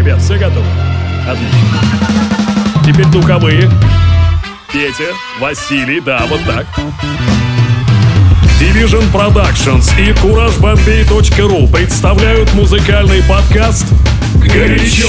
Ребят, все готовы? Отлично. Теперь духовые. Петя, Василий, да, вот так. Division Productions и CourageBombay.ru представляют музыкальный подкаст «Горячо».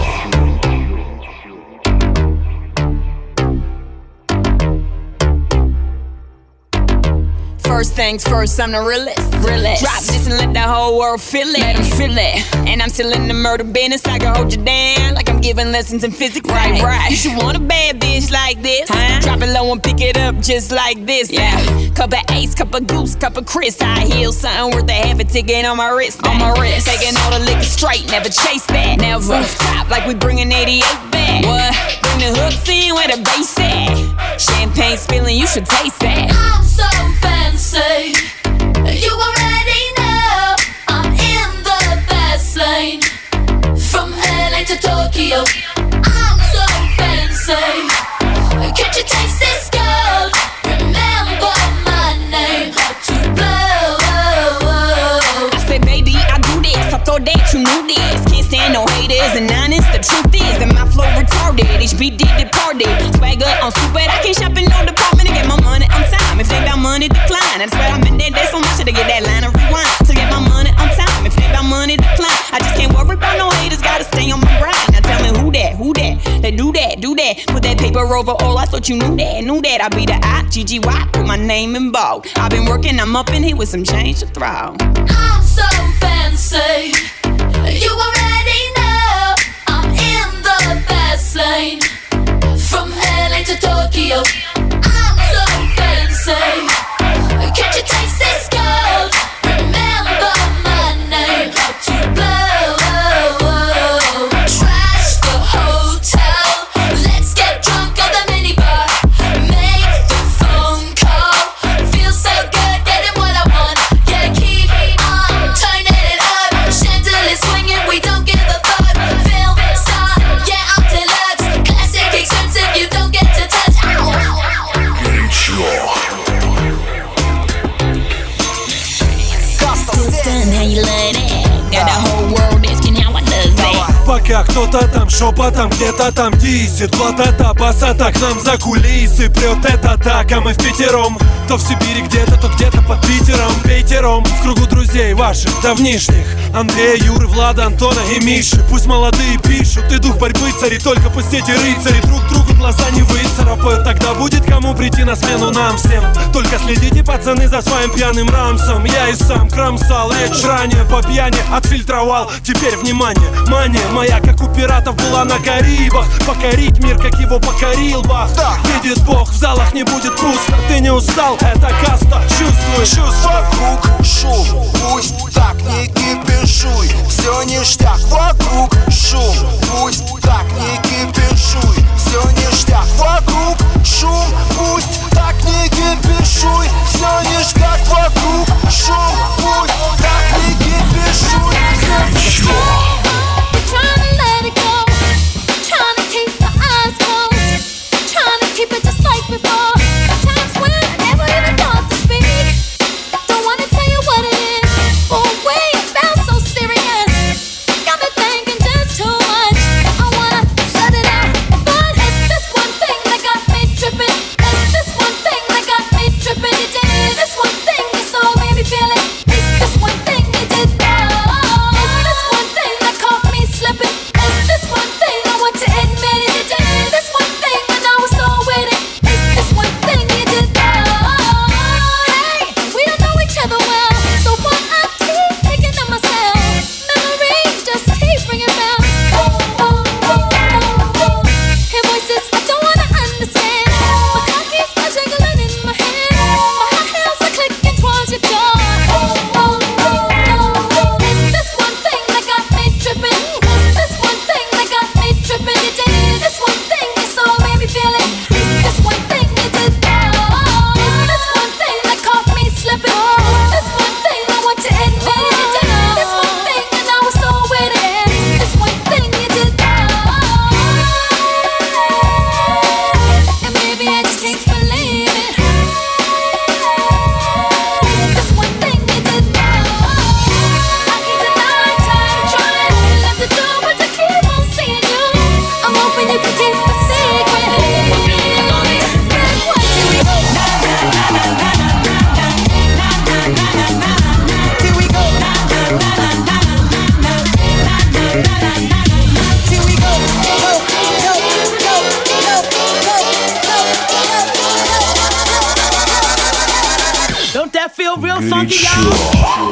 First things first, I'm the realest. Drop this and let the whole world feel it. Let them feel it. And I'm still in the murder business. I can hold you down like I'm giving lessons in physics. Right. You should want a bad bitch like this. Drop it low and pick it up just like this. Yeah. Cup of Ace, cup of Goose, cup of Chris. I heal something worth a half a ticket on my wrist. Taking all the liquor straight, never chase that. Never. Rooftop like we bringing 88 back. What? Bring the hooks in where the bass at. Champagne spilling, you should taste that. I'm so fancy. You already know I'm in the fast lane. From LA to Tokyo, I'm so fancy. Can't you taste this gold? Remember my name, hard to blow. I said, baby, I do this. I thought that you knew this. Can't stand no haters and honest. The truth is that my flow retarded. HBD departed. Swagger on stupid. I can't shop in no department to get my money on time. If they got money, decline. I swear I'm in that so much to get that line of rewind. To get my money on time. If they got money, decline. I just can't worry about no haters. Gotta stay on my grind. Now tell me who that? They do that. Put that paper over all. I thought you knew that. I be the I-G-G-Y. Put my name in bold. I've been working, I'm up in here with some change to throw. I'm so fancy. You already know I'm in the fast lane. From LA to Tokyo, I'm so fancy. Can't you taste this gold? Remember my name, hard to blow. Trash the hotel, let's get drunk at the minibar. Make the phone call, feel so good, getting what I want. Yeah, keep on turning it up. Chandelier swinging, we don't give a fuck. Film star, yeah, I'm deluxe. Classic expensive, you don't get to touch. Still stunned how you love that. Got the whole world asking how I does that. Пока кто-то там шепотом где-то там дисит. Вот это басата к нам за кулисы прет это так, а мы впятером. То в Сибири где-то, то где-то под Питером. Пятером в кругу друзей ваших давнишних: Андрея, Юры, Влада, Антона и Миши. Пусть молодые пишут, и дух борьбы царит. Только пусть эти рыцари друг другу глаза не выцарапают. Тогда будет кому прийти на смену нам всем. Только следите, пацаны, за своим пьяным рамсом. Я и сам кромсал речь ранее, по пьяни отфильтровал. Теперь внимание, мания моя, как у пиратов, была на Карибах. Покорить мир, как его покорил Бах. Видит Бог, в залах не будет пусто. Ты не устал, это каста, чувствуешь? Вокруг шум, пусть так не кипишуй. Все ништяк, вокруг шум, пусть так не кипишуй. Все ништяк, вокруг шум, пусть так не кипишуй. Все ништяк, вокруг шум, пусть так не кипишуй. Trying to let it go, trying to keep my eyes closed, trying to keep it just like before. Times when I never even thought to speak. Don't wanna tell you what it is, but way it felt so serious. Got me real funky, y'all.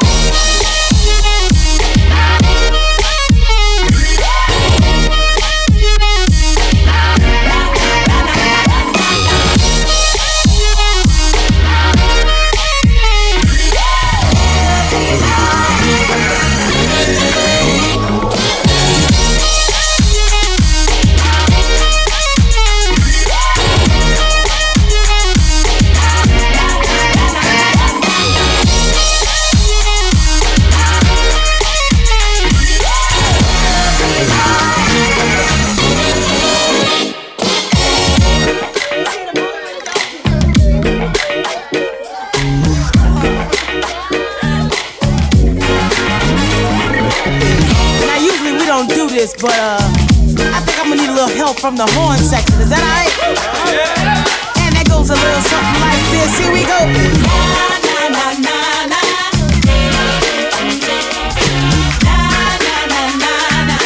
But I think I'm gonna need a little help from the horn section. Is that alright? Yeah. And that goes a little something like this. Here we go. Na na na na na. Na na na na na.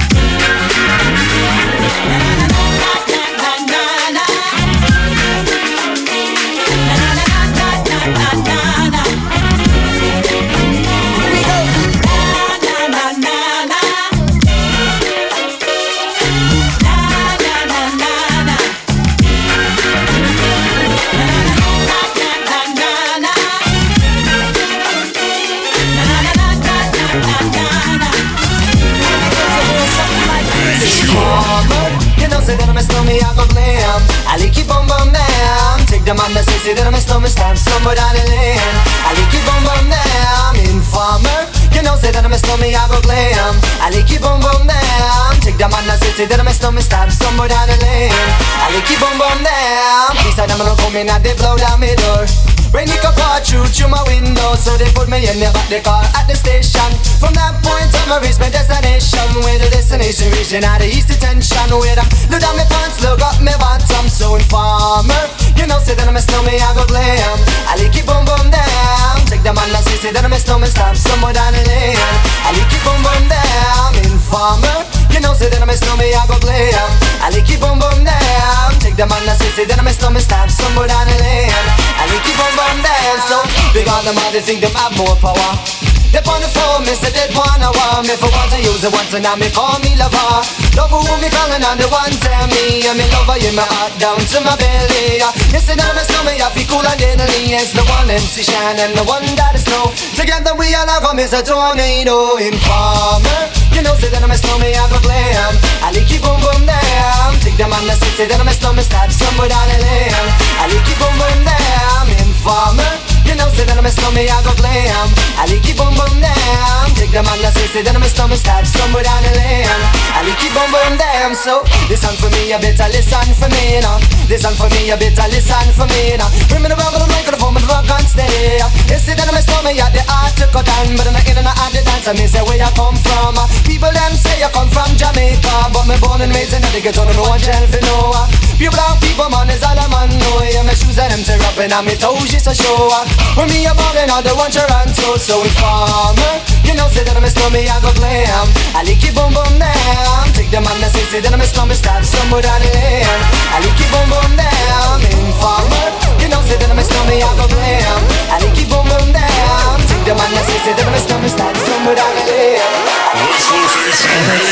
Say that I'm a snowman, I go glam. I like keep on bum down. Take the man that say that I'm a snowman, stab somewhere down the lane. I like keep on bum down. Informer, you know, say that I'm a snowman, I go glam. I like keep on bum down. Take the man that say that I'm a snowman, stab somewhere down the lane. I like keep on bum down. These are them gonna come in and they blow down my door. Rain it can pour through my window, so they put me in the back the car at the station. From that point on, I reach my destination. Where the destination region out of east detention. Where I look down my pants, look up my bottom. So informer, you know, say that I'm a snowman, I go glam. I like it boom boom down. Take the man that say that I'm a snowman, stop somewhere down the lane. I like it boom boom down. Informer, you know, say that I'm a snowman, I go glam. I like it boom boom down. Take the man that say that I'm a snowman, stop somewhere down the lane. I like it boom boom down. So big on them, they think them have more power. They on the phone, me say they wanna want me. For once I use it once and now me call me lover. Love who me calling on the one tell me. I'm in love with my heart down to my belly. You say that I'm a snowman, I feel cool and deadly. It's the one MC Shine and the one that is snow. Together we all come as a tornado. Informer, you know say that I'm a snowman, I go glam. I like it boom boom down. Take the man that say that I'm a snowman, start somewhere down the lane. I like it boom boom down. Informer, you know say that I'm a snowman, I go glam. I like it boom boom down. Take the man that say that I'm a snowman, start somewhere down the lane. I like it boom boom down. So listen for me, you better listen for me now. Listen for me, you better listen for me now. Bring me the rock of the microphone, the rock and stay. You say that I'm a snowman, yeah, the art to cut down, but I'm not in and out the dance. I mean say where you come from. People them say you come from Jamaica, but me born and raised in the ghetto, no one tell for no. Pure black people, man, is all a man know. Yeah, my shoes and them tear up and on me toes just to show. When me a ballin' all the one Toronto, so informer, you know say that I'm a snowman, I go glam. I like it boom boom down. Take the man that say that I'm a snowman, start somewhere down the lane. I like it boom boom down. Informer, you know say that I'm a snowman, I go glam. I like it boom boom down. Take the man that say that I'm a snowman, start somewhere down the lane. Вы слушаете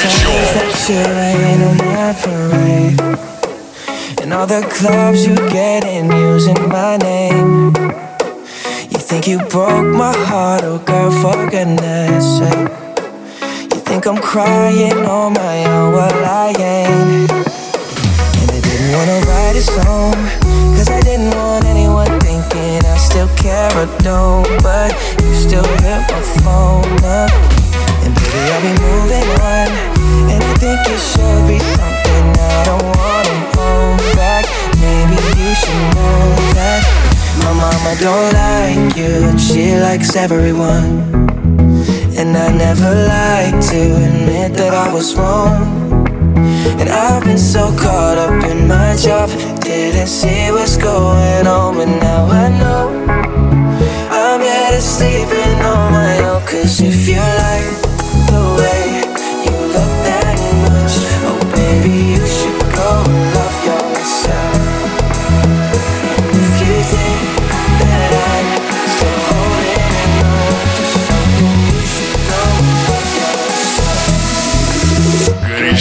Горячо. And all the clubs you get in using my name. You think you broke my heart, oh girl, for goodness sake. You think I'm crying on my own, well I ain't. And I didn't wanna write a song, cause I didn't want anyone thinking I still care or don't. But you still hit my phone up. And baby, I'll be moving on. And I think it should be something I don't wanna hold back. Maybe you should know that my mama don't like you and she likes everyone. And I never like to admit that I was wrong. And I've been so caught up in my job, didn't see what's going on. But now I know I'm better sleeping on my own. Cause if you like the way you look that much, oh baby, you should go and love yourself. And if you think that I'm still holding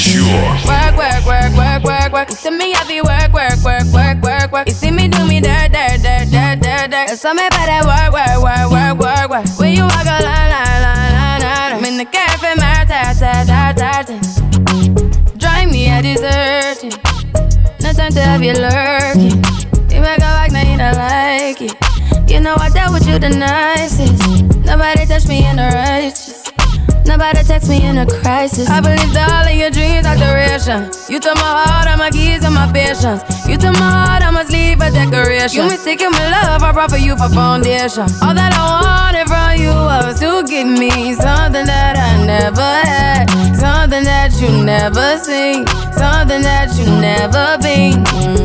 Work, work, work, work, work, work. You see me happy work, work, work, work, work, work. You see me do me dirt, dirt, dirt, dirt, dirt, dirt. So me better work, work, work, work, work, work. When you walk a line, line, line, line, line. I'm in the cafe, my ta. Drive me a deserting. No time to have you lurking. You make a like, now you don't like it. You know I dealt with you the nicest. Nobody touched me in the righteous. Nobody text me in a crisis. I believed all of your dreams are duration. You took my heart, all my keys, and my patience. You took my heart, I must leave a decoration. You mistaken my love, I brought for you for foundation. All that I wanted from you was to give me something that I never had, something that you never seen, something that you never been.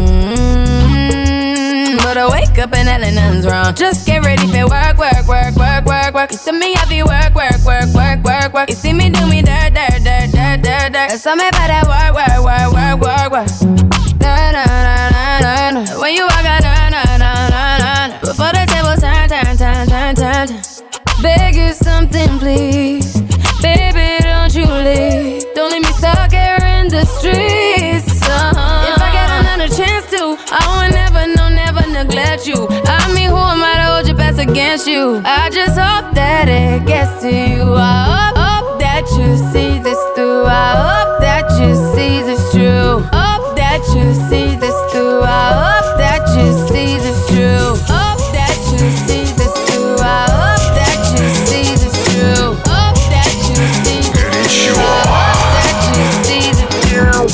But I wake up and nothing's wrong. Just get ready for work, work, work, work, work, work. You see me happy work, work, work, work, work, work. You see me do me dirt, dirt, dirt, dirt, dirt, dirt. So me better work, work, work, work, work, work. Na na na na na na. When you walk out, na na na na na. Before the table turn, turn, turn, turn, turn, turn. Beg you something, please, baby, don't you leave. Don't leave me stuck here in the streets. If I get another chance to, I would never know, never neglect you. I mean, who am I to hold your best against you? I just hope that it gets to you. I hope that you see this through. I hope that you see this true. Hope that you see this through. I hope that you see this true. Hope that you see this through. I hope that you see this true. Hope that you see this through. I hope that you see this true.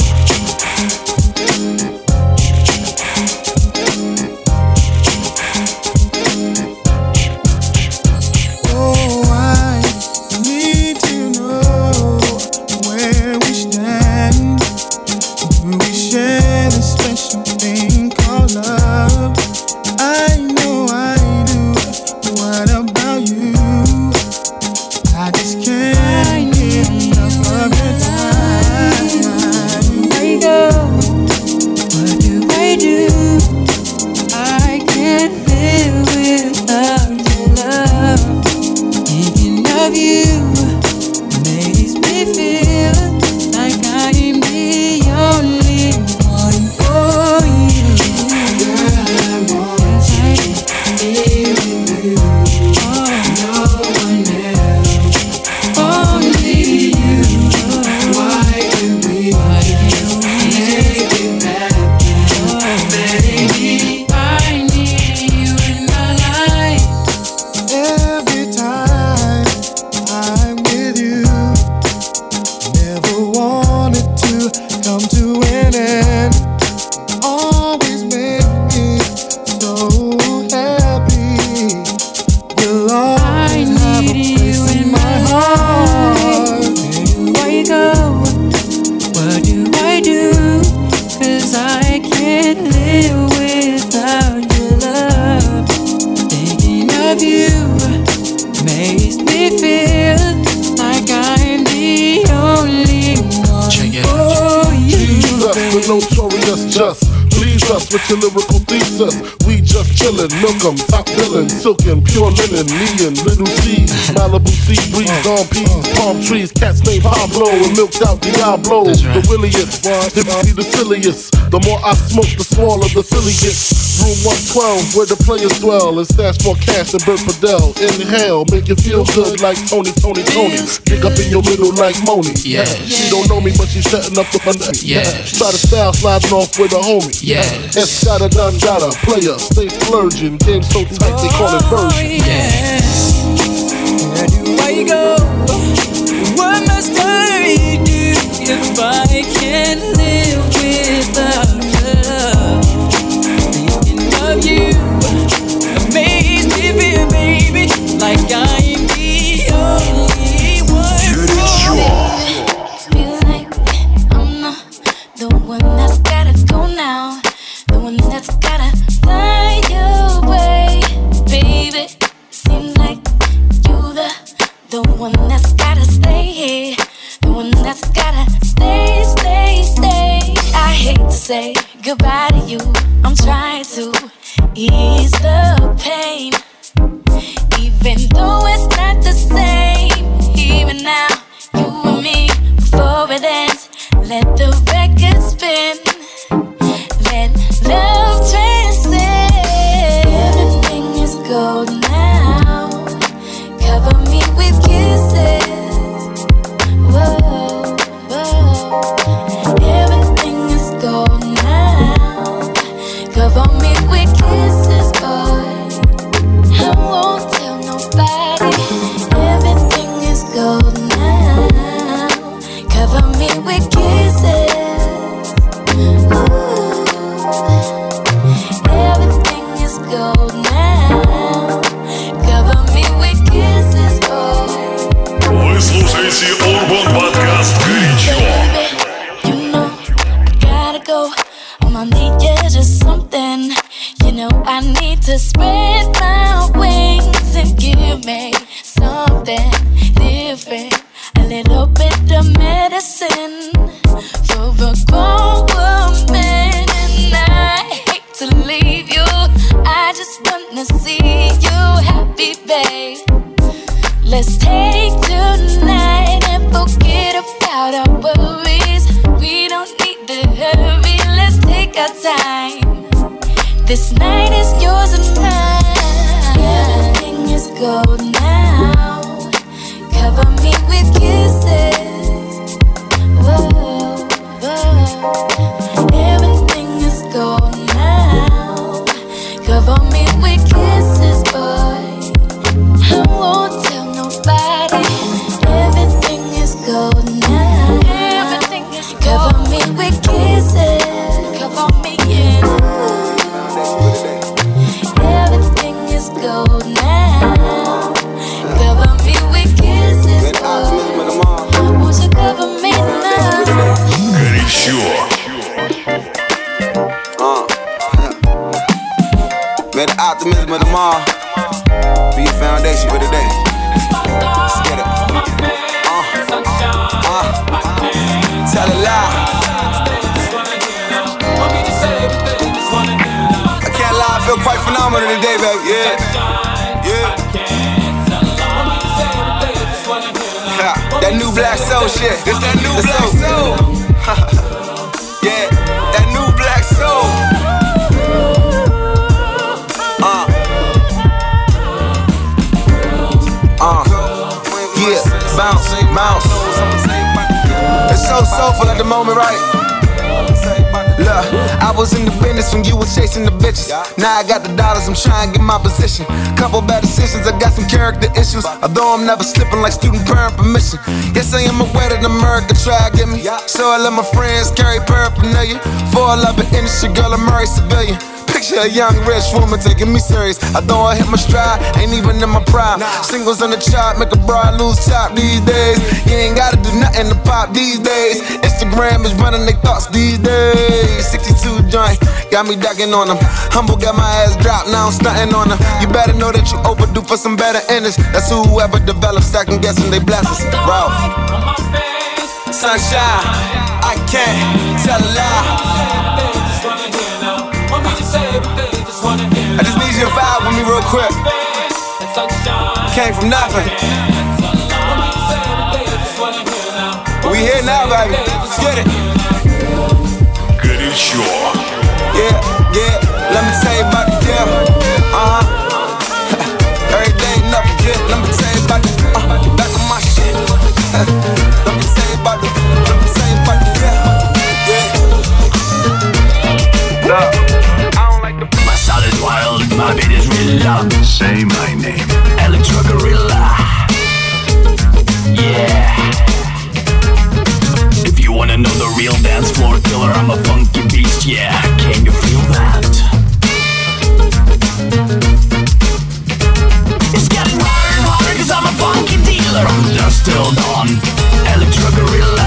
With your lyrical thesis, we just chillin', milk 'em, top billin', silkin', pure linen, me and Little C, Malibu sea breeze, dawn peas, palm trees, cats named Pablo, and milked out Diablo, the williest, if you see the silliest, the more I smoke, the smaller the silly gets. Room 112, where the players dwell, and stash more cash than Bert Fidel. Inhale, make you feel good like Tony. Dig up in your middle like Moni. Yeah. She don't know me, but she's setting up the fun. Yeah. Try to style sliding off with a homie. Yeah. Escada Dangada, player, stay splurging. Game so tight they call it version. Yeah. Where do I go? What must I do if I can't live without love? Thinking of you amazes me, feel, baby, like I'm the only one. Feel like I'm the one that's gotta go now, the one that's gotta fly away, baby. Seems like you the one that's gotta stay here, the one that's gotta stay. I hate to say goodbye to you, I'm trying to ease the pain, even though it's not the same. Even now, you and me, before it ends, Let the record spin. Let love transcend. Everything is gold now. Cover me with kisses. Whoa, whoa. Everything is gold now. Cover me with kisses, boy. I won't tell nobody. Everything is gold now. Cover me with kisses. Ooh. Everything is gold now. Cover me with kisses, boy. Вы слушаете Urban Podcast горячо. You know, I gotta go. All I need is just something. You know, I need to spread my wings and give me something different. A little bit of medicine for a grown woman. And I hate to leave you. I just wanna see you happy, babe. Let's take tonight and forget about our worries. We don't need to hurry, let's take our time. This night is yours and mine. Everything is gold now. Cover me with kisses. Whoa, whoa. Everything is gold now. Cover me with kisses, boy. I won't tell nobody. Everything is gold now. Everything is gold. Cover me with kisses. Cover me, yeah. Everything is gold now. Cover me with kisses, boy. Won't you cover me now? Горячо. May the optimism of tomorrow be your foundation for today. Let's get it. Tell it loud. I can't lie, I feel quite phenomenal today, baby. Yeah, yeah. That new black soul shit. It's that new black soul. Yeah, that new black soul. Yeah, bounce, bounce. It's so soulful at the moment, right? Look, I was in the business when you was chasing the bitches. Now I got the dollars, I'm trying to get my position. Couple bad decisions, I got some character issues. Although I'm never slipping like student parent permission. Yes, I am aware that America try to get me. So I let my friends carry paraphernalia. For a love industry, girl, I'm married civilian. Picture a young rich woman taking me serious. I thought I hit my stride, ain't even in my prime. Singles on the chart, make a broad lose top these days. You ain't gotta do nothing to pop these days. Instagram is running their thoughts these days. 62 joint, got me ducking on them. Humble got my ass dropped, now I'm stunting on them. You better know that you overdue for some better endings. That's whoever develops second guessing they blessings. Ralph. Sunshine, I can't tell a lie. I just need you to vibe with me real quick. Came from nothing. We here now, baby. Let's get it. Горячо. Yeah, yeah. Let me tell you about the deal. Every day nothing good. Let me tell you about the back of my shit. Let me tell you about the deal. Yeah. My style is wild, my beat is real loud. Say my name, Electro Gorilla. Yeah. If you wanna know the real dance floor killer, I'm a funky beast, yeah. Can you feel that? It's getting harder and harder cause I'm a funky dealer. From dusk till dawn, Electro Gorilla.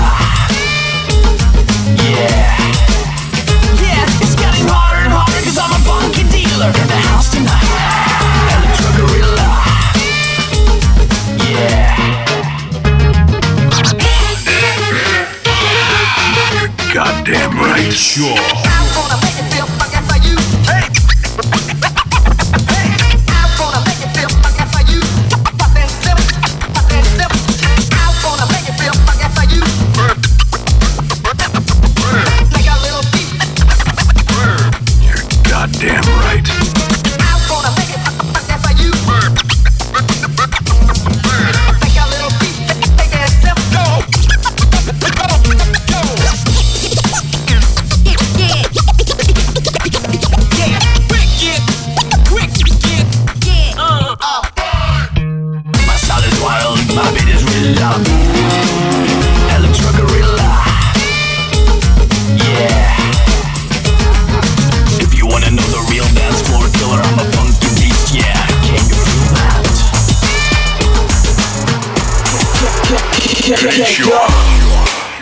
Yeah. Yeah, it's getting harder and harder cause I'm a funky dealer. In the house tonight, Electro Gorilla. Yeah. Goddamn right. Sure. I'm gonna make it feel fucking for you. Hey. Hey. I'm gonna make it feel fucking for you. Fucking silly. Fucking silly. I'm gonna make it feel fucking for you.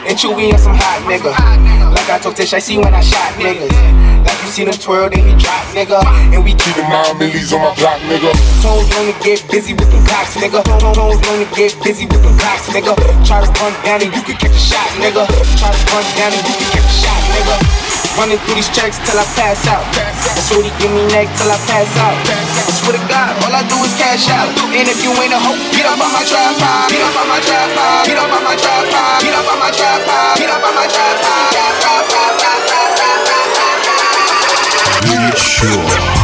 and Chewy on some hot nigga. Like I told Tish, I see when I shot niggas. Like you see them twirl, then he drop, nigga. And we keep the 9 millies on my block, nigga. Toes known to get busy with the cops, nigga. Toes known to get busy with the cops, nigga. Try to run down and you can catch a shot, nigga. Try to run down and you can catch a shot, nigga. Running through these checks till I pass out. That's what he give me neck till I pass out. I swear to God, all I do is cash out. And if you ain't a hoe, get up on my tripod. Get up on my tripod. Get up on my tripod. Get up on my tripod. Get up on my tripod. Get sure.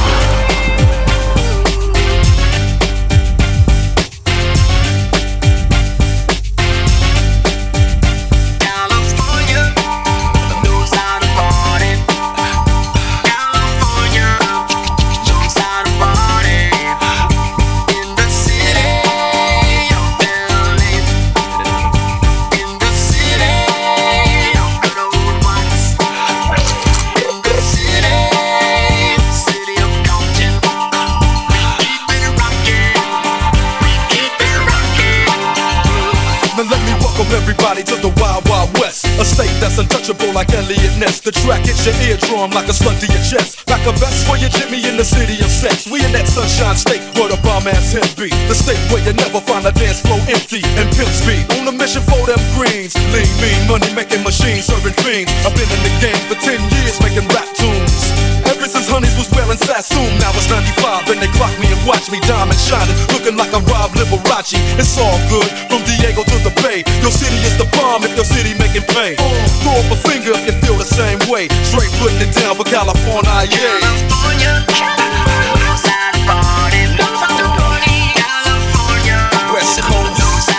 Everybody to the Wild Wild West, a state that's untouchable like Elliot Ness. The track hits your eardrum like a slug to your chest. Like a vest for your Jimmy in the city of sex. We in that sunshine state where the bomb ass him be. The state where you never find a dance floor empty and pimp speed. On a mission for them greens. Lean, mean, money making machines, serving fiends. I've been in the game for 10 years making rap tunes. Ever since Honeys was wearing Sassoon, now it's 95 and they clock me and watch me diamond shining, looking like a Rob Liberace. It's all good from Diego to the Bay. Your city is the bomb if your city making pain. Throw up a finger if you feel the same way. Straight putting it down for California, yeah. West Coast.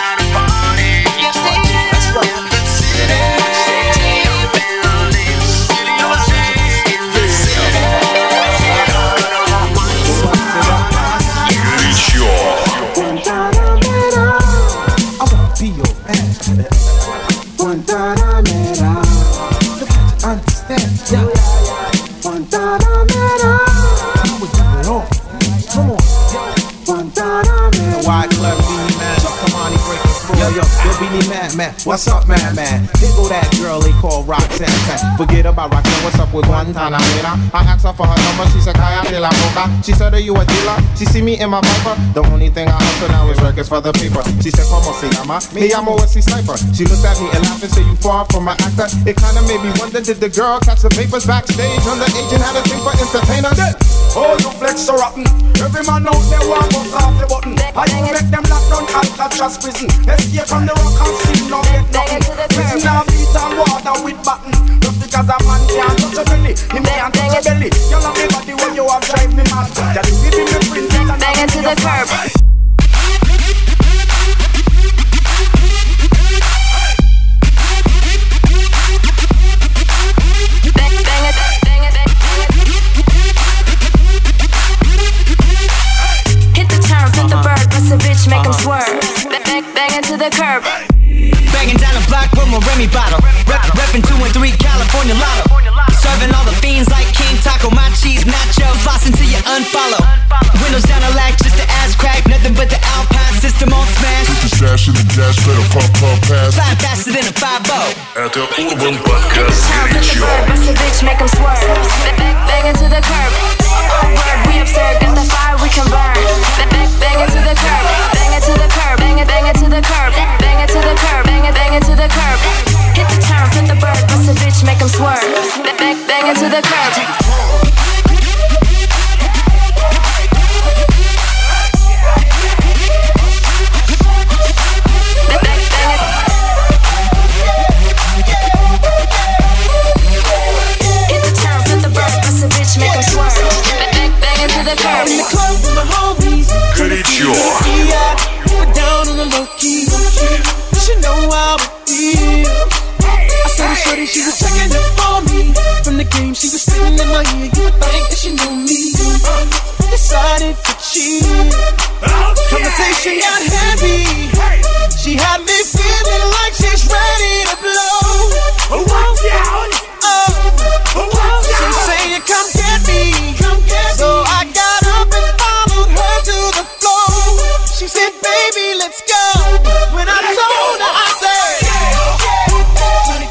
Man, what's up, man? Here go that girl they call Roxanne. Forget about Roxanne, what's up with Guantanamera? I asked her for her number, she said, Kaya de la Boca. She said, are you a dealer? She see me in my Viper. The only thing I hustle now is records for the paper. She said, como se llama? Me llamo Wesley Sniper. She looked at me and laughed and said, you far from my actor. It kinda made me wonder, did the girl catch the papers backstage? Underage and had a thing for entertainers. Oh, you flex so rotten. Every man out there want to bust off the button. How you make them lock down Alcatraz prison? Escape from the rock and see no get nothing. Prison now beat and water with button. Just because a man can't touch a belly, him can't touch a belly. You love me body when you have drive me mad. Can you give me princess and bang it to the curb? Make them swerve, bang into the curb. Banging down the block with my Remy bottle. Reppin' 2 and 3 California Lotto. Serving all the fiends like King Taco, my cheese nacho. Floss until you unfollow. Windows down the lack, just the ass crack. Nothing but the Alpine system on smash. Put the stash in the gas, better pump pass. Fly faster than a 5-0. Это Urban Podcast горячо. Bust a bitch, make them swerve, bang into the curb. Oh word, we absurd, got the fire we can burn. Bang into the curb, bang it to the curb, bang it to the curb, bang it to the curb, bang it to the curb. Hit the turn, flip the bird, bust a bitch, make them swerve, bang it to the curb. Горячо. Down on the low key. She know how it feels. I saw the shorty, she was checking up on me. From the game, she was sitting in my ear. You would think that she knew me. Decided to cheat. Conversation got heavy. She had me feeling like she's ready to blow. Watch out! She saying, come get me. So I got up and followed her to the floor. She said, baby, let's go. When I told her, I said,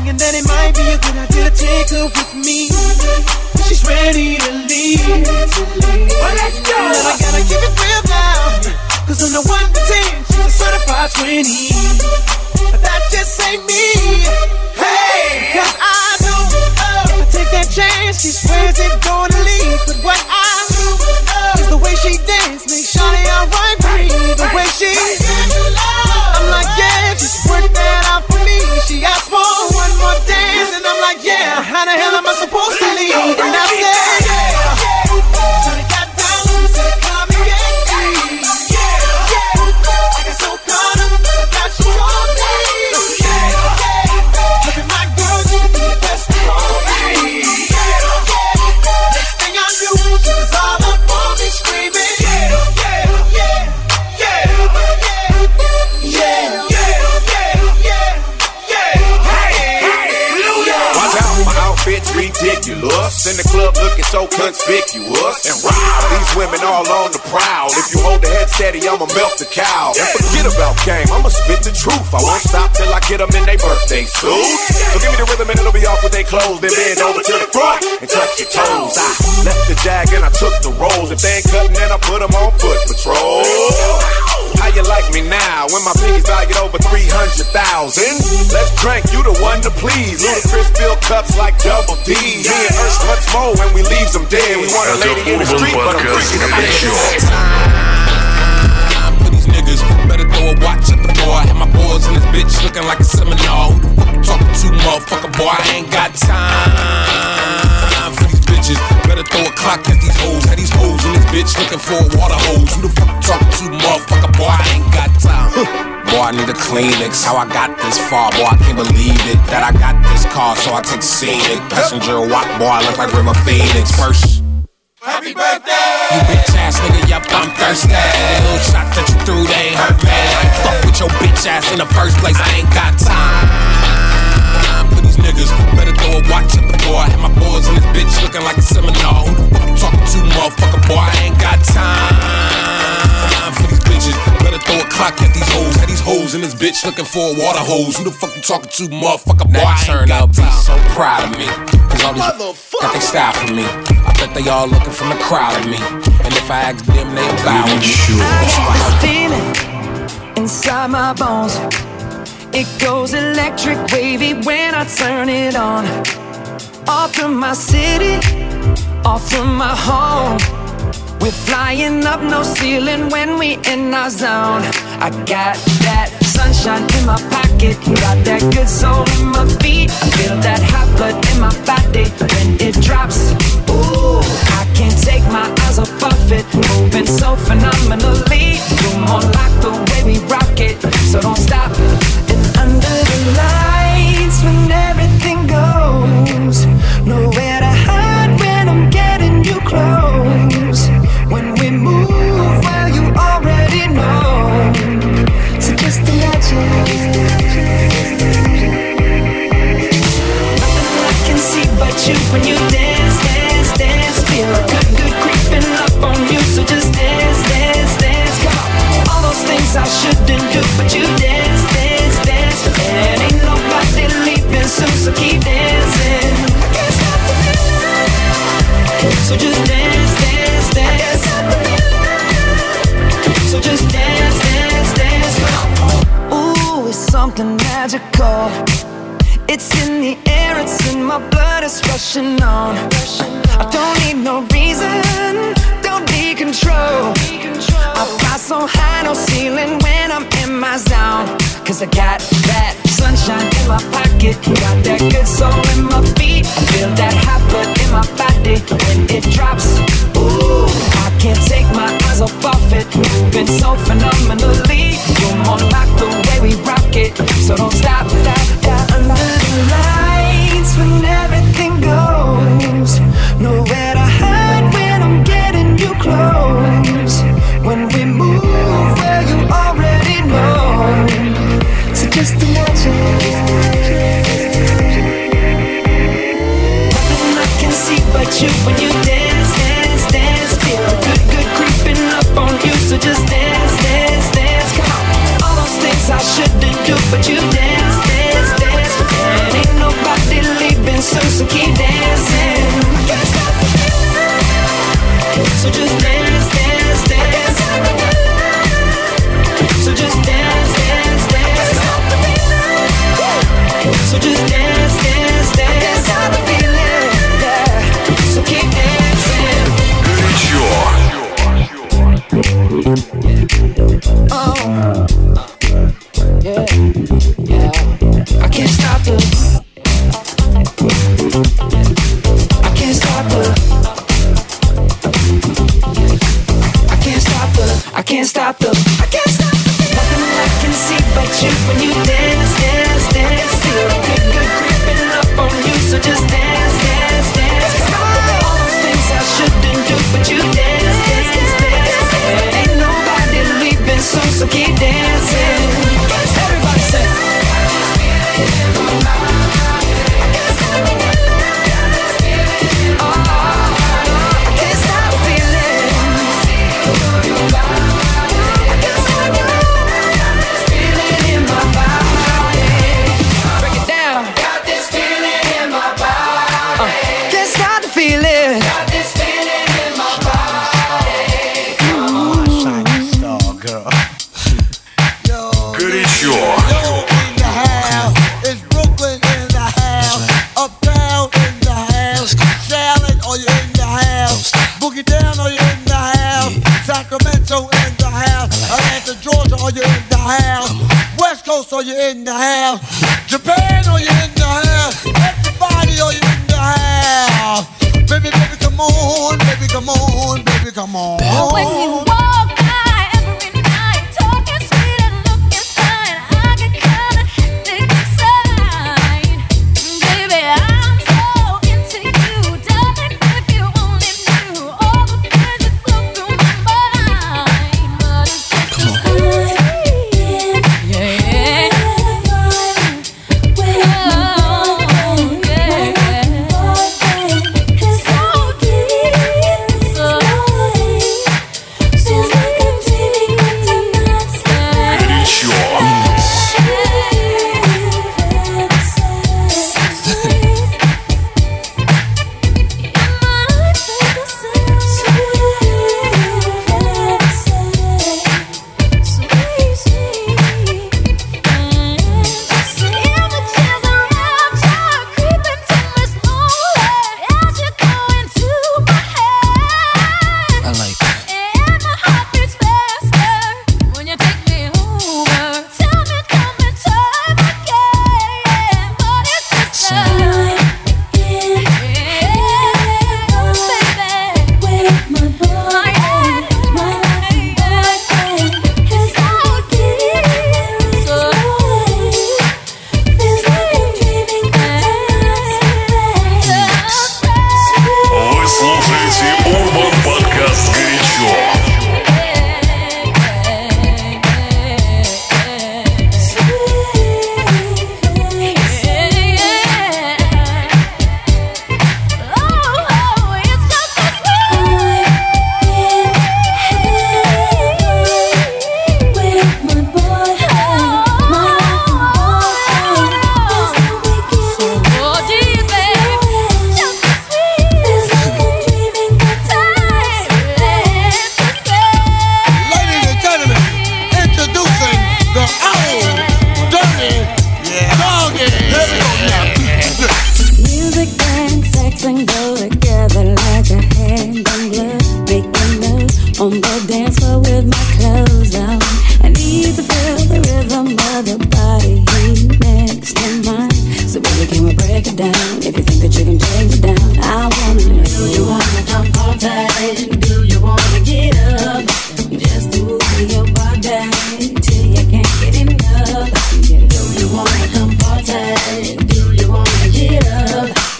thinking that it might be a good idea to take her with me. She's ready to leave. Well, let's go. And I gotta keep it real now, cause on the 1 to 10, she's a certified 20. But that just ain't me. Hey, cause I know if I take that chance, she swears it's gonna leave. But what I know is the way she dance makes Shawty alright for me. The way she I'm like, yeah, just work that out for me. She asked for one more dance, and I'm like, yeah, how the hell am I supposed to leave? And I said, yeah, turn it got down, said come and get me. Yeah, I got so caught up, I got you all day. Look at my girl, you can be the best of all me. Next thing I knew, she was all up on me screaming. Bitch ridiculous, in the club looking so conspicuous, and wow, these women all on the prowl. If you hold the head steady, I'ma melt the cow. And forget about game, I'ma spit the truth. I won't stop till I get them in their birthday suits. So give me the rhythm and it'll be off with their clothes. Then bend over to the front and touch your toes. I left the jag and I took the rolls. If they ain't cutting, then I put them on foot patrol. How you like me now when my pinkies valued over 300,000? Let's drink, you the one to please. Ludacris fill cups like Double D. Me and Ursh once more when we leave them dead. We want a lady in the street, but I'm freaking the bed. Time for these niggas, better throw a watch at the door. I have my boys in this bitch looking like a seminar. Who the fuck you talking to, motherfucker, boy? I ain't got time for these bitches. Better throw a clock at these hoes. Had these hoes in this bitch looking for a water hose. Who the fuck you talking to, motherfucker, boy? I ain't got time. Boy, I need a Kleenex. How I got this far, boy, I can't believe it. That I got this car, so I take scenic. Passenger walk, boy, I look like River Phoenix. First, happy birthday! You bitch ass nigga, yup, I'm thirsty. The little shots that you threw, they ain't hurt, man. I ain't fuck with your bitch ass in the first place. I ain't got time for these niggas. Better throw a watch at the door. I have my boys in this bitch looking like a seminar. Who the fuck you talking to, motherfucker, boy? I ain't got time for these bitches. Better throw a clock at these hoes. Had these hoes in this bitch looking for a water hose. Who the fuck you talking to, motherfucker, boy? I ain't got time. So proud of me, cause all these got they style for me. I bet they all looking from the crowd at me. And if I ask them, they bow with me. I feel it inside my bones. It goes electric wavy when I turn it on. Off from my city, off from my home. We're flying up, no ceiling when we in our zone. I got that sunshine in my pocket, got that good soul in my feet. I feel that hot blood in my body when it drops. Ooh, I can't take my eyes off it, moving so phenomenally. You're more like the way we rock it, so don't stop. And under the lights when everything goes, nowhere to hide when I'm getting you close. When we move, well, you already know. So just imagine. Nothing I can see but you when you dance, dance, dance. Feel good, good creeping up on you. So just dance, dance, dance. Come on. All those things I shouldn't do, but you dance, dance, dance. And ain't nobody leaving soon, so keep dancing. I can't stop the feeling. So just dance, dance, dance. So just dance, dance, dance. Ooh, it's something magical. It's in the air, it's in my blood, it's rushing on. I don't need no reason, don't need control. I fly so high, no ceiling when I'm in my zone. Cause I got that sunshine in my pocket, got that good soul in my feet. I feel that hot blood in my body when it drops. Ooh, I can't take my eyes off it, moving so phenomenally. You're more like the way we rock it, so don't stop. Under the lights when everything goes, nowhere to hide when I'm getting you close. When we move, well, you already know. So just imagine. Nothing I can see but you when you dance, dance, dance. Feel good, good creeping up on you. So just dance, dance, dance. Come on. All those things I shouldn't do, but you dance, dance, dance. And ain't nobody so keep dancing. Can't stop the feeling. So just dance, dance, dance. So just dance, dance, dance. Stop the feeling. So just dance, dance, dance. Stop the feeling. Yeah. So keep dancing. Горячо. Oh. Yeah, yeah. I can't stop the. I can't stop the. I can't stop the. I can't stop the. I can't stop the. Nothing I can see but you when you dance, dance, dance. Feel good, good creeping up on you, so just dance, dance, dance. All those things I shouldn't do, but you dance, dance, dance. Ain't nobody leaving soon, so keep dancing. Everybody say. Are you in the house? Japan, are you in the house? Everybody, are you in the house? Baby, baby, come on, baby, come on, baby, come on. When you walk by every night, talking sweet and looking fine, I get kinda hectic inside. Baby, I'm so into you, darling. If you only knew all the things that flow through my mind, but it's just a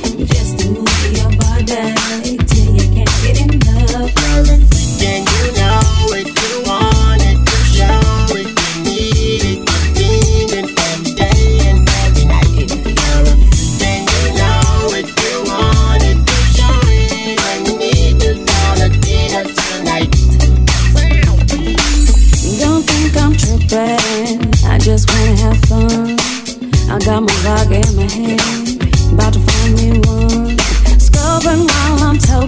Then you know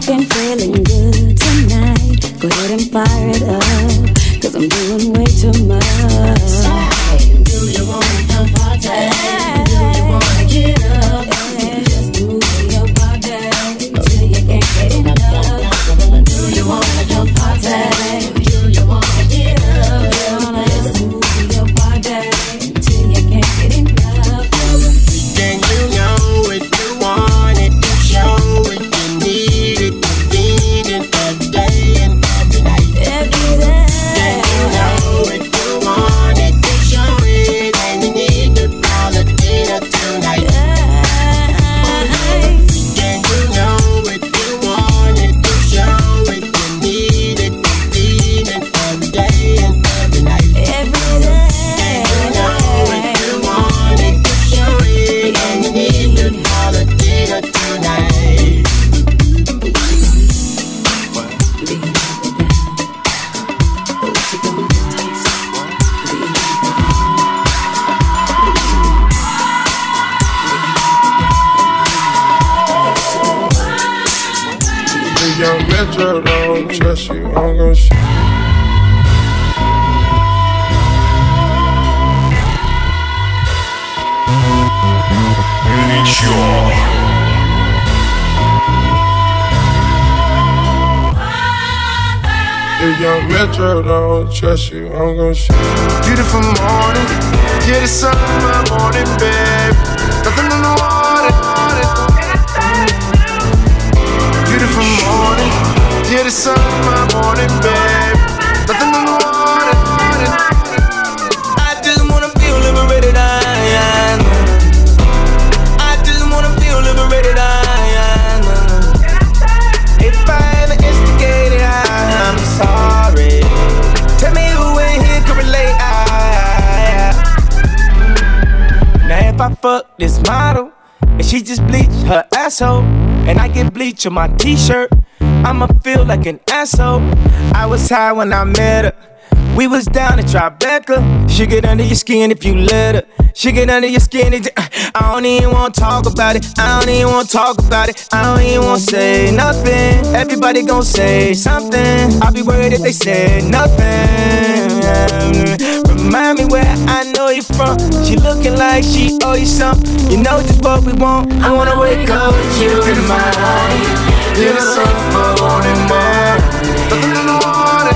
been feeling good tonight. Go ahead and fire it up, 'cause I'm doing way too much. Do you wanna come party? Do you wanna get up? Just move your body till you can't get enough. Do you wanna come party? Do you wanna get up? Just move your body till you can't get enough. Then you know it, you want it, you show it, you need it, you need it every day and every night. Every day. Then you know it, you want it, you show it, and you need to call it dinner tonight. Then you know it, you want it, you show it, you need it, you need it every day and every night. Every day. Then you know it, you want it, you show it, and you need to call it dinner tonight. The young Metro don't trust you, I'm gon' shoot. The young Metro don't trust you, I'm gon' shoot. Beautiful morning, yeah, the sun in my morning, babe. Nothing in the water. Beautiful morning, yeah, the sun in my morning, babe. Nothing in the water. I just wanna feel liberated, I just wanna feel liberated, If I ever instigated, I'm sorry. Tell me who in here can relate, Now if I fuck this model and she just bleach her asshole, and I get bleach on my t-shirt, I'ma feel like an asshole. I was high when I met her. We was down in Tribeca. She get under your skin if you let her. She get under your skin. I don't even wanna talk about it. I don't even wanna talk about it. I don't even wanna say nothing. Everybody gon' say something. I'll be worried if they say nothing. Remind me where I know you from. She looking like she owe you something. You know just what we want. I wanna wake up with you in mind. Yeah, the sun for morning, man. Nothing in the water.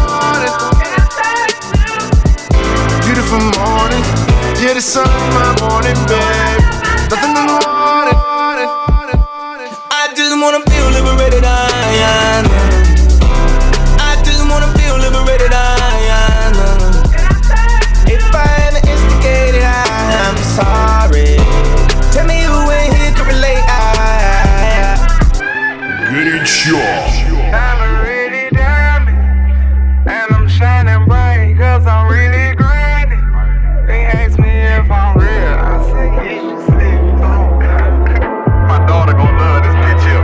Beautiful morning, yeah, the sun in my morning, babe. Nothing in the water. I just wanna feel liberated, I just wanna feel liberated, If I ever instigated, I'm sorry. Tell me who in here can relate, Горячо. I'm really diamond, and I'm shining bright, 'cause I'm really grinding. They ask me if I'm real, I say yes, you see. My daughter gon' love this bitch here.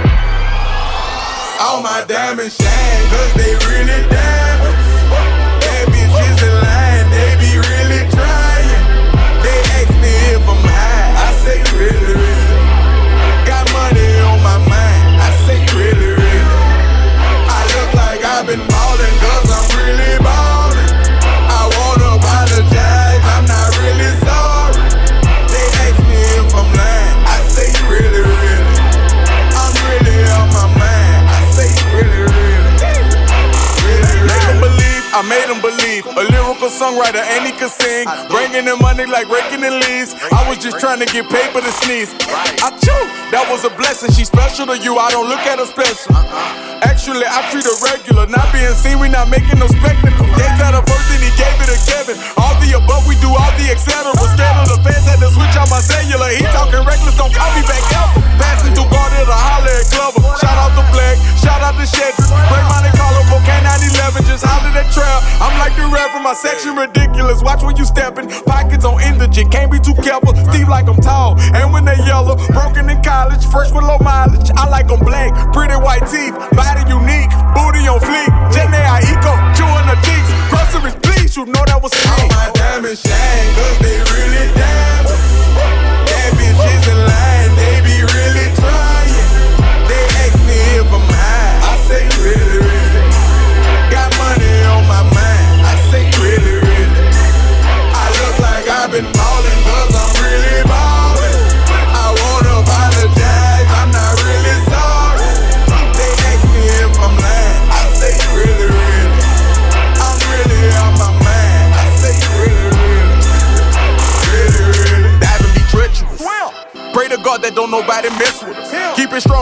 All my diamonds shine, 'cause they really diamonds. Bad bitches in line, they be really trying. They ask me if I'm high, I say really, really. Got money on my mind, I say really, really. I look like I've been ballin', 'cause I'm really ballin'. I wanna apologize, I'm not really sorry. They ask me if I'm lying, I say really, really. I'm really on my mind, I say really, really. Make them believe, I made them believe. A lyrical songwriter and he could sing. Bringing in money like raking in leaves. I was just trying to get paper to sneeze. I chew, that was a blessing. She's special to you, I don't look at her special. Actually, I treat her regular. Not being seen, we not making no spectacle. They got her first and he gave it to Kevin. All the above, we do all the etc. Scared of the fans, had to switch out my cellular. He talking reckless, don't call me back ever. Passing through Garden to holler at Glover. Shout out to Black, shout out to Shedrick. Break Monte Carlo, Cocaine 911, just holler that trail. I'm like the Reverend, my section ridiculous. Watch when you steppin', pockets on indigent, can't be too careful. Steve like I'm tall, and when they yellow, broken in college, fresh with low mileage. I like them black, pretty white teeth, body unique, booty on fleek. Jenny Aiko, chewing her cheeks, groceries please, you know that was sweet. All my diamonds shine, 'cause they really diamonds. Bad bitches in line, they be really trying. They ask me if I'm high.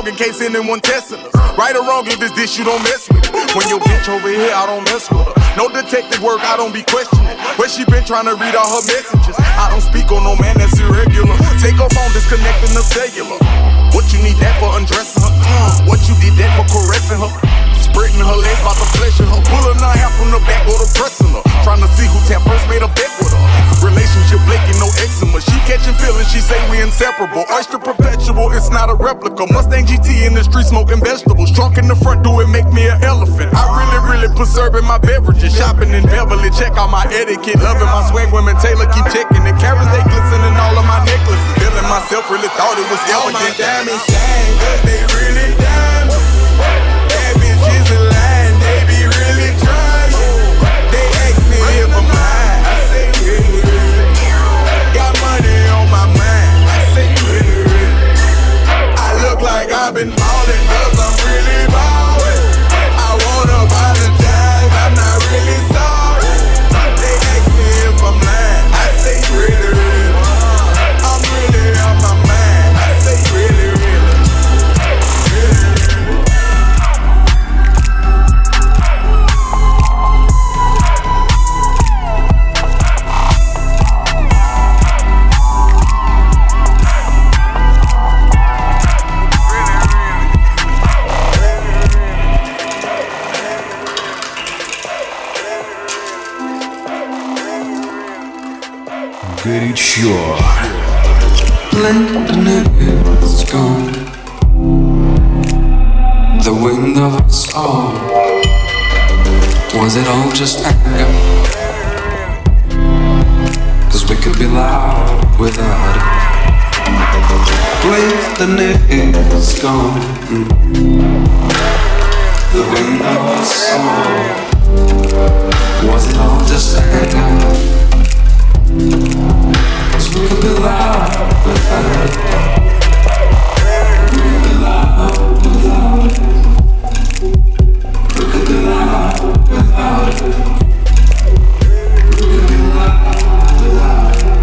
dog in case anyone testing us. Right or wrong, if it's this, you don't mess with it. When your bitch over here, I don't mess with her. No detective work, I don't be questioning. Where she been trying to read all her messages? I don't speak on no man that's irregular. Take her phone, disconnecting the cellular. What you need that for undressing her? What you did that for caressing her? Spreading her legs about to pleasure her. Pulling her hair from the back or the pressing her. Trying to see who tap first made a bet with her. Relationship blinking, no eczema. She catching feelings, she say we inseparable. Oyster perpetual, it's not a replica. Mustang GT in the street smoking vegetables. Drunk in the front, do it make me an elephant. I really preserving my beverages. Shopping in Beverly, check out my etiquette. Loving my swag, women Taylor keep checking. The carrots they glistening all of my necklaces. Feeling myself, really thought it was elegant. All my diamonds shine, cause they really diamonds. Bad bitches in line, they be really trying. They ask me if I'm high, I say really, really. Got money on my mind, I say really, really. I look like I've been ballin' cause I'm really ballin'. I wanna apologize, I'm not really sorry. They ask me if I'm lying, I say really, really. I'm really on my mind, I say really, really. Горячо. Lightning is gone. The wind of us all. Was it all just anger? Cause we could be loud without it. Lightning is gone. The wind of us all. Was it all just anger? Cause we could be loud without it. We could be loud without it. We could be loud without it. We could be loud without it.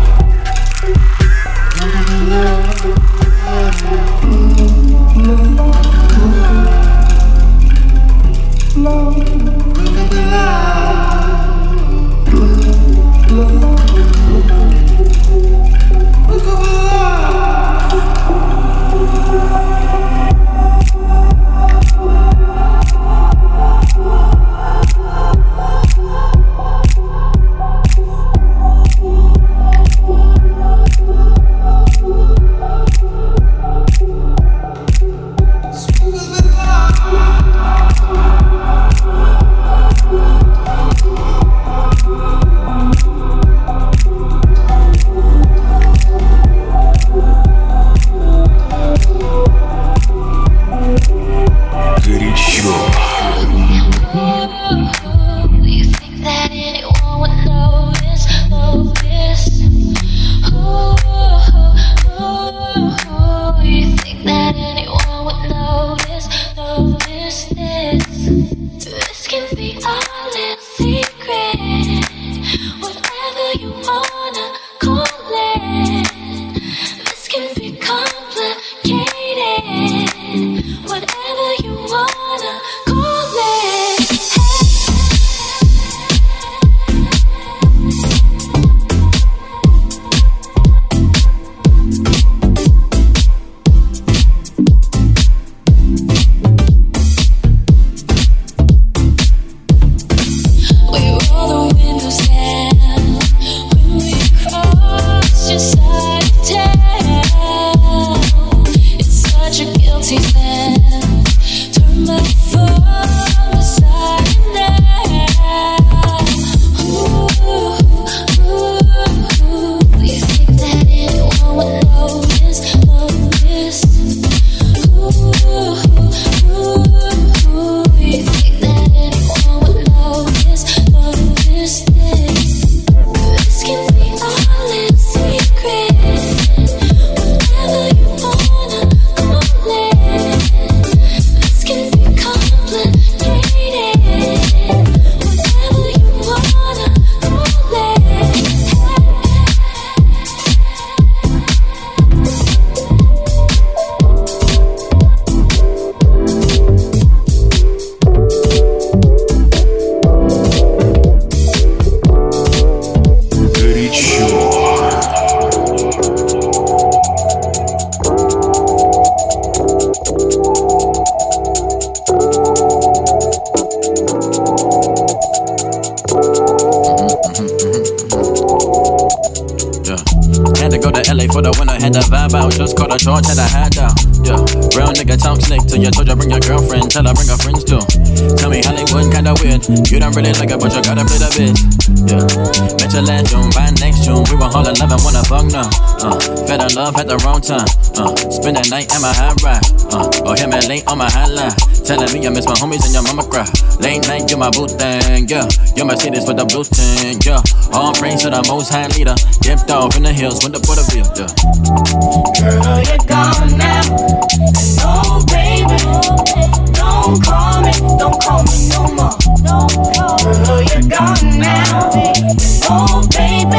had to vibe out, just caught a charge, had a hat down. Yeah, real nigga talk slick till you told you bring your girlfriend, tell her bring her friends too. Tell me Hollywood kinda weird, you don't really like it, but you gotta play the bitch. Yeah, met your last June, by next June, we were all in love and wanna fuck now. Fell in love at the wrong time. Spend the night at my high ride. Or hit me late on my hotline, telling me I miss my homies and your mama cry. Late night, you my boo thing, yeah. Your Mercedes with the blue thing, yeah. All praise to the most high leader. Dipped off in the hills with the Porterville, yeah. Girl, you're gone now. And oh, baby, don't call me no more. Girl, you're gone now. And oh, baby,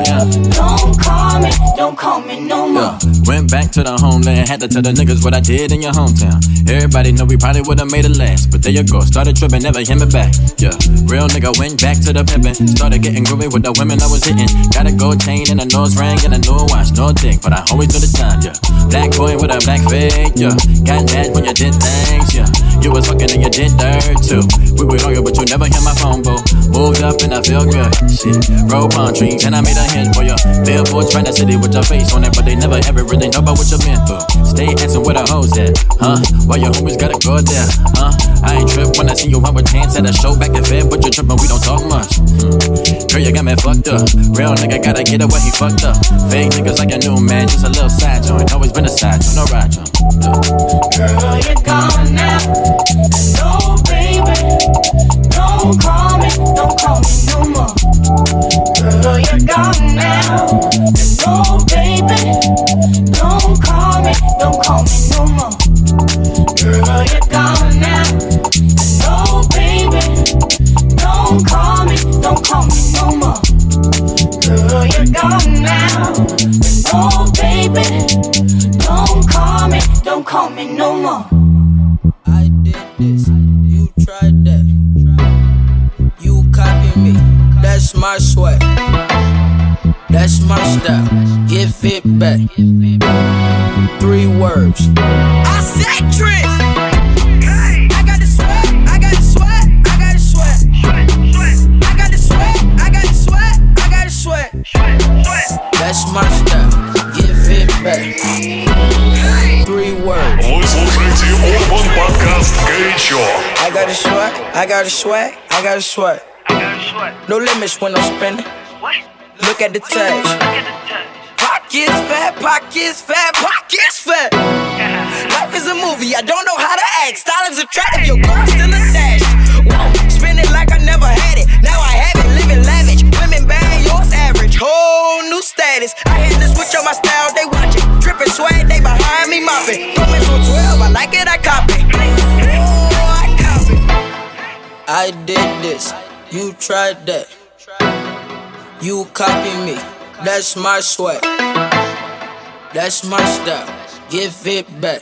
don't call me no more. Yeah. Went back to the homeland, had to tell the niggas what I did in your hometown. Everybody know we probably would've made it last, but there you go, started tripping, never hit me back. Yeah, real nigga went back to the pimpin', started getting groovy with the women I was hitting. Got a gold chain and a nose ring and a new watch, no dick, but I always do the time. Yeah, black boy with a black fade. Yeah, got mad when you did things. Yeah, you was fucking and you did dirt too. We would argue, but you never hit my phone, boo. Moved up and I feel good. Shit, roll palm trees and I made a hit for you. Billboards trying to city with your face on it, but they never ever really know about what you've been through. Stay asking where the hoes at, huh? Why your homies gotta go there, huh? I ain't trip when I see you out with chance at a show back in Fed, but you trippin', we don't talk much. Girl, you got me fucked up. Real nigga gotta get it where he fucked up. Fake niggas like a new man, just a little side joint. Always been a side joint, no ride joint. Girl, you're gone now. No, baby, don't call me no more. Girl, you're gone now. No, baby, don't call me no more. Girl, you're gone now. No, baby, don't call me no more. Girl, you're gone now. No, baby, don't call me no more. I did this, you tried that. You copy me, that's my sweat. That's my style, give it back. 3 words. I said Trish. I got the sweat, I got the sweat, I got the sweat. I got the sweat, I got the sweat, I got the sweat. That's my style, give it back. 3 words. Вы слушаете Urban Podcast горячо. I got a sweat, I got a sweat, I got a sweat. No limits when I'm spending. Look at the tags. Pockets fat, pockets fat, pockets fat. Life is a movie, I don't know how to act. Style is attractive, your girl still attached. Whoa, spend it like I never had it. Now I have it, living lavish. Women bad, yours average. Whole new status. I had to switch on my style, they watching. Drippin' swag, they behind me mopping. Promise on 12, I like it, I copy. Oh, I copy. I did this, you tried that. You copy me, that's my sweat. That's my style, give it back.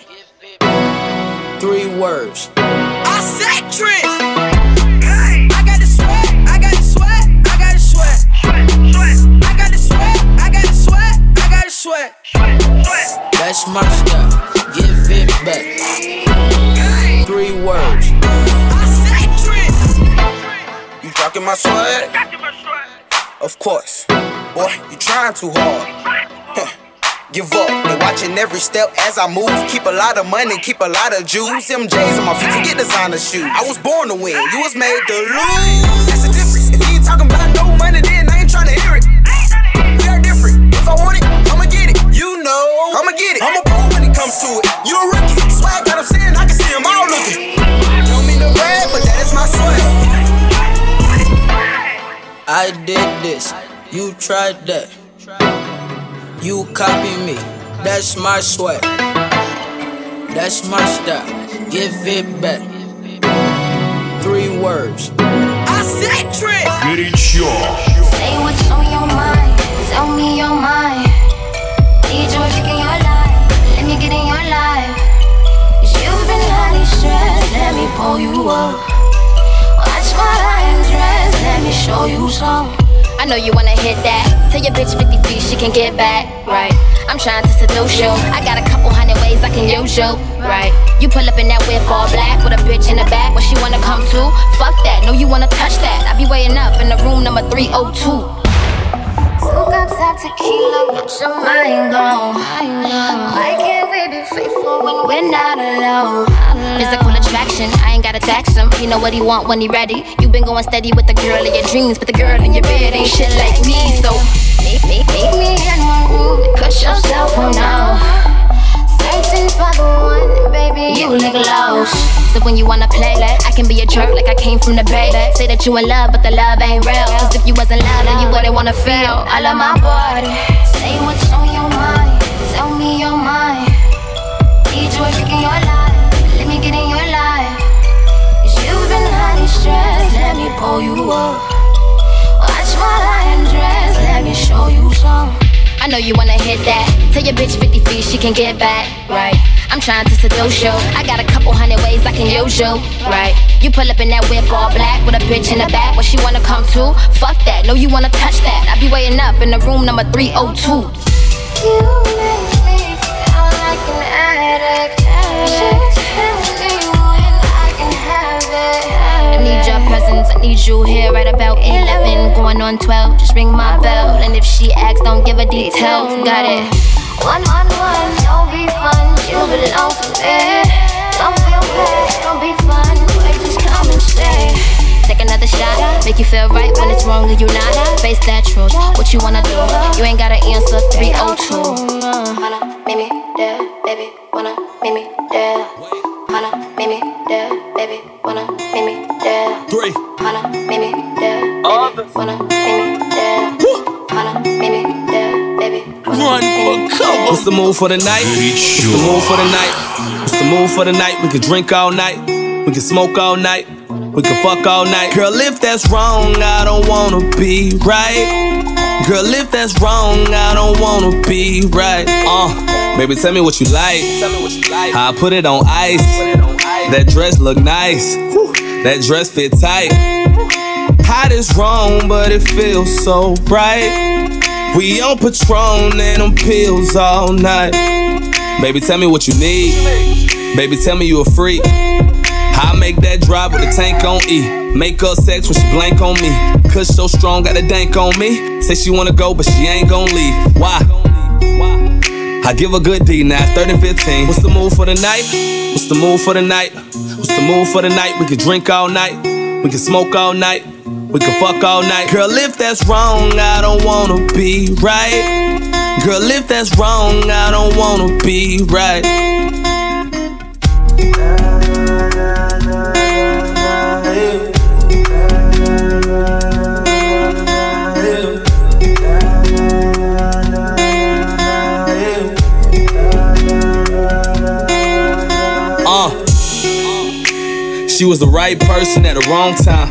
3 words. I said Trish. I got the sweat, I got the sweat, I got the sweat. I got the sweat, I got the sweat, I got the sweat. That's my style, give it back. 3 words. I said Trish. You rockin' my sweat? Of course. Boy, you trying too hard. Give up, they watching every step as I move. Keep a lot of money, keep a lot of juice. MJs on my feet, forget designer shoes. I was born to win, you was made to lose. That's the difference. If you ain't talking about no money, then I ain't trying to hear it. We are different. If I want it, I'ma get it. You know, I'ma get it. I'm a pro when it comes to it. You a rookie. Swag that I'm saying, I can see them all looking. Don't mean to brag, but that is my swag. I did this, you tried that. You copy me, that's my sweat. That's my style, give it back. 3 words. I said Trish. Горячо. Say what's on your mind, tell me your mind. Need you to get your life, let me get in your life. 'Cause you've been highly stressed, let me pull you up. Watch my iron dress, let me show you some. I know you wanna hit that. Tell your bitch 50 feet she can get back, right? I'm trying to seduce you. I got a couple hundred ways I can use you, right? You pull up in that whip all black with a bitch in the back. What she wanna come to? Fuck that, no you wanna touch that. I be waiting up in the room number 302. 2 cups of like tequila, get your mind gone. Why can't we be faithful when we're not alone? Physical attraction, I ain't gotta tax him. He know what he want when he ready. You been going steady with the girl of your dreams, but the girl in your bed ain't shit like me. So meet me in my room and cut your cell phone off. Searching for the one, baby, you look lost. So when you wanna play, I can be a jerk like I came from the bay. Say that you in love, but the love ain't real. Cause if you wasn't loud, then you wouldn't wanna feel all of my body. Say what's on your mind, tell me your mind. Need you a freak in your life, let me get in your life. Cause you've been highly stressed, let me pull you up. Watch while I undress, let me show you some. I know you wanna hit that. Tell your bitch 50 feet, she can get back, right? I'm trying to seduce you. I got a couple hundred ways I can use you, right? You pull up in that whip all black with a bitch in the back. What she wanna come to? Fuck that, no you wanna touch that. I be waiting up in the room number 302. You make me feel like an addict. Just tell me when I can have it. I need your presence, I need you here right about 11, going on 12. Just ring my bell, and if she asks, don't give her details. Got it. 1-on-1, don't be fun, you belong to me. Don't feel bad, don't be fun, wait, just come and stay. Take another shot, make you feel right when it's wrong and you not. Face that truth, what you wanna do? You ain't gotta answer 302. Wanna meet me there, baby, wanna meet me there. Wanna meet me there, baby, wanna meet me there. 3. Wanna meet me there, baby, wanna meet me there. Wanna meet me there, baby. Run for cover. What's the move for the night? What's the move for the night? What's the move for the night? We can drink all night. We can smoke all night. We can fuck all night. Girl, if that's wrong, I don't wanna be right. Girl, if that's wrong, I don't wanna be right. Baby, tell me what you like. How I put it on ice. That dress look nice. That dress fit tight. Hot is wrong, but it feels so right. We on Patron and them pills all night. Baby, tell me what you need. Baby, tell me you a freak. I make that drive with a tank on E. Make her sex when she blank on me. Kush so strong, got a dank on me. Say she wanna go, but she ain't gon' leave. Why? I give a good D now, 30-15. What's the move for the night? What's the move for the night? What's the move for the night? We can drink all night. We can smoke all night. We can fuck all night. Girl, if that's wrong, I don't wanna be right. Girl, if that's wrong, I don't wanna be right. She was the right person at the wrong time.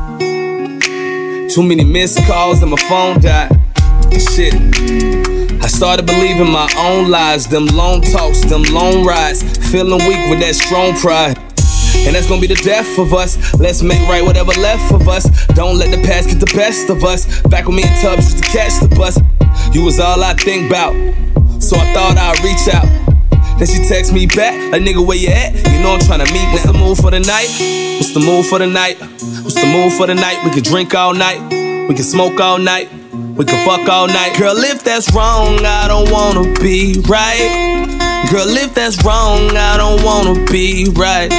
Too many missed calls and my phone died. Shit, I started believing my own lies. Them long talks, them long rides. Feeling weak with that strong pride. And that's gonna be the death of us. Let's make right whatever left of us. Don't let the past get the best of us. Back with me in Tubbs used to catch the bus. You was all I think about, so I thought I'd reach out. Then she text me back, like nigga where you at? You know I'm tryna meet. What's the move for the night? What's the move for the night? What's the move for the night? We can drink all night. We can smoke all night. We can fuck all night. Girl, if that's wrong, I don't wanna be right. Girl, if that's wrong, I don't wanna be right.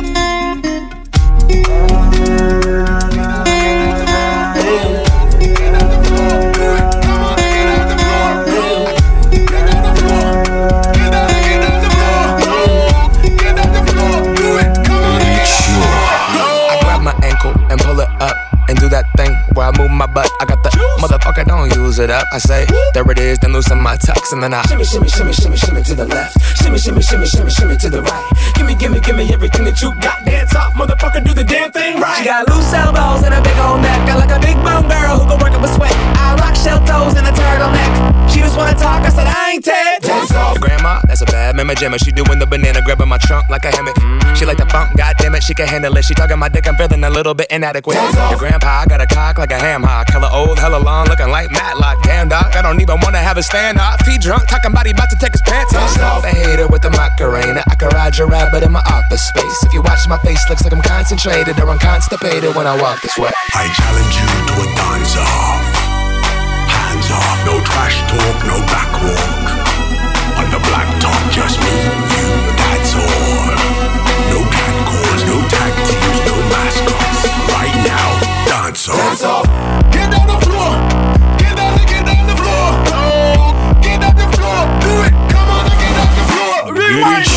And do that thing where I move my butt. I got the motherfucker, don't use it up. I say, there it is, then loosen my tux, and then I shimmy, shimmy, shimmy, shimmy, shimmy to the left. Shimmy, shimmy, shimmy, shimmy, shimmy to the right. Gimme, gimme, gimme everything that you got. Dance off, motherfucker, do the damn thing right. She got loose elbows and a big old neck. I like a big bone girl who can work up a sweat. I rock shell toes and a turtleneck. She just wanna talk, I said I ain't Ted. Dance off. Your grandma, that's a bad mama jammer. She doing the banana, grabbing my trunk like a hammock. She like the funk, goddamn it, she can handle it. She talking my dick, I'm feeling a little bit inadequate. Your grandpa, I got a cock like a ham hock. Hella old, hella long, looking like Matlock. Damn dog, I don't even wanna have a stand up. Feet drunk, talking about he about to take his pants off. The hater with the Macarena, I can ride your rabbit in my office space. If you watch my face, looks like I'm concentrated or I'm constipated when I walk this way. I challenge you to a dance-off. Hands off, no trash talk, no back walk. On the black top, just me, you, that's all. No cat calls, no tag teams, no mascots. Right now, dance off. Dance off. Get on the floor. Get on the floor. Oh, get on the floor. Do it. Come on and get on the floor. Rewind.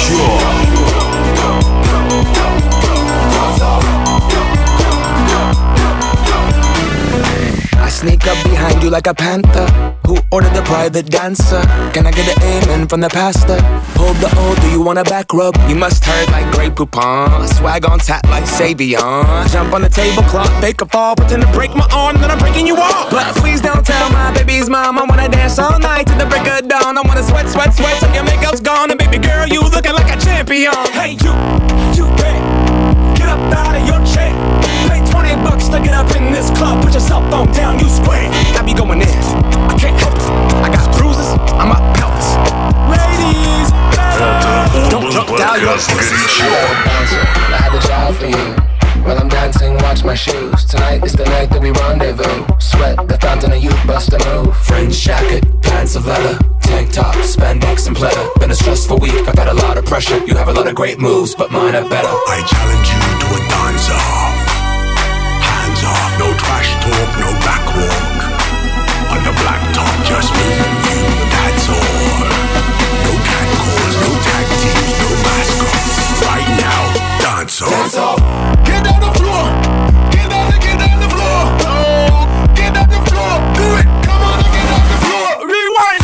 I sneak up behind you like a panther. Who ordered the private dancer? Can I get an amen from the pastor? Pulled the O, do you want a back rub? You must hurt like Grey Poupon. Swag on tap like Savion. Jump on the tablecloth, fake a fall, pretend to break my arm, then I'm breaking you off. But please don't tell my baby's mom I wanna dance all night to the break of dawn. I wanna sweat, sweat, sweat till your makeup's gone. And baby girl, you looking like a champion. Hey you can't get up out of your chair. Pay $20 to get up in this club. Put your cell phone down, you square. I be going in, I can't help it. I got bruises on my pelvis. Ladies, don't jump down your I had a job for you. While I'm dancing, watch my shoes. Tonight is the night that we rendezvous. Sweat, the fountain of youth, bust a move. Fringe jacket, pants of leather, tank top, spandex and pleather. Been a stressful week, I got a lot of pressure. You have a lot of great moves, but mine are better. I challenge you to a dance off. Hands off, no trash talk, no back walk. On the black top, just me, you, that's all. No cat calls, no tag teams, no mascots. Right now, dance off. Dance off. Get on the floor. Get on the floor. Oh, get on the floor. Do it. Come on and get on the floor. Rewind.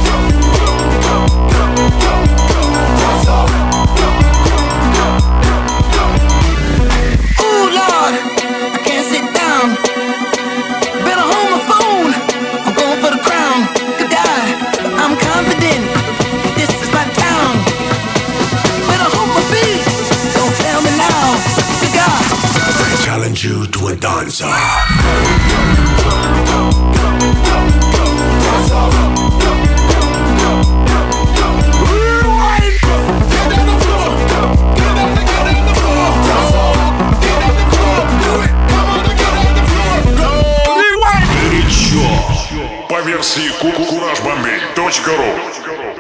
Dance off. Ooh, Lord, I can't sit down. Better hold my phone. I'm going for the crown. Good God, I'm confident. This is my town. Better hold my feet. Don't fail me now. Good God. I challenge you to a dance off. Dance off. Rewind. Get on the floor. Get on the floor. Dance off. Get on the floor. Do it. Come on and get on the floor. Go. Rewind. Горячо. По версии CourageBombay.ru.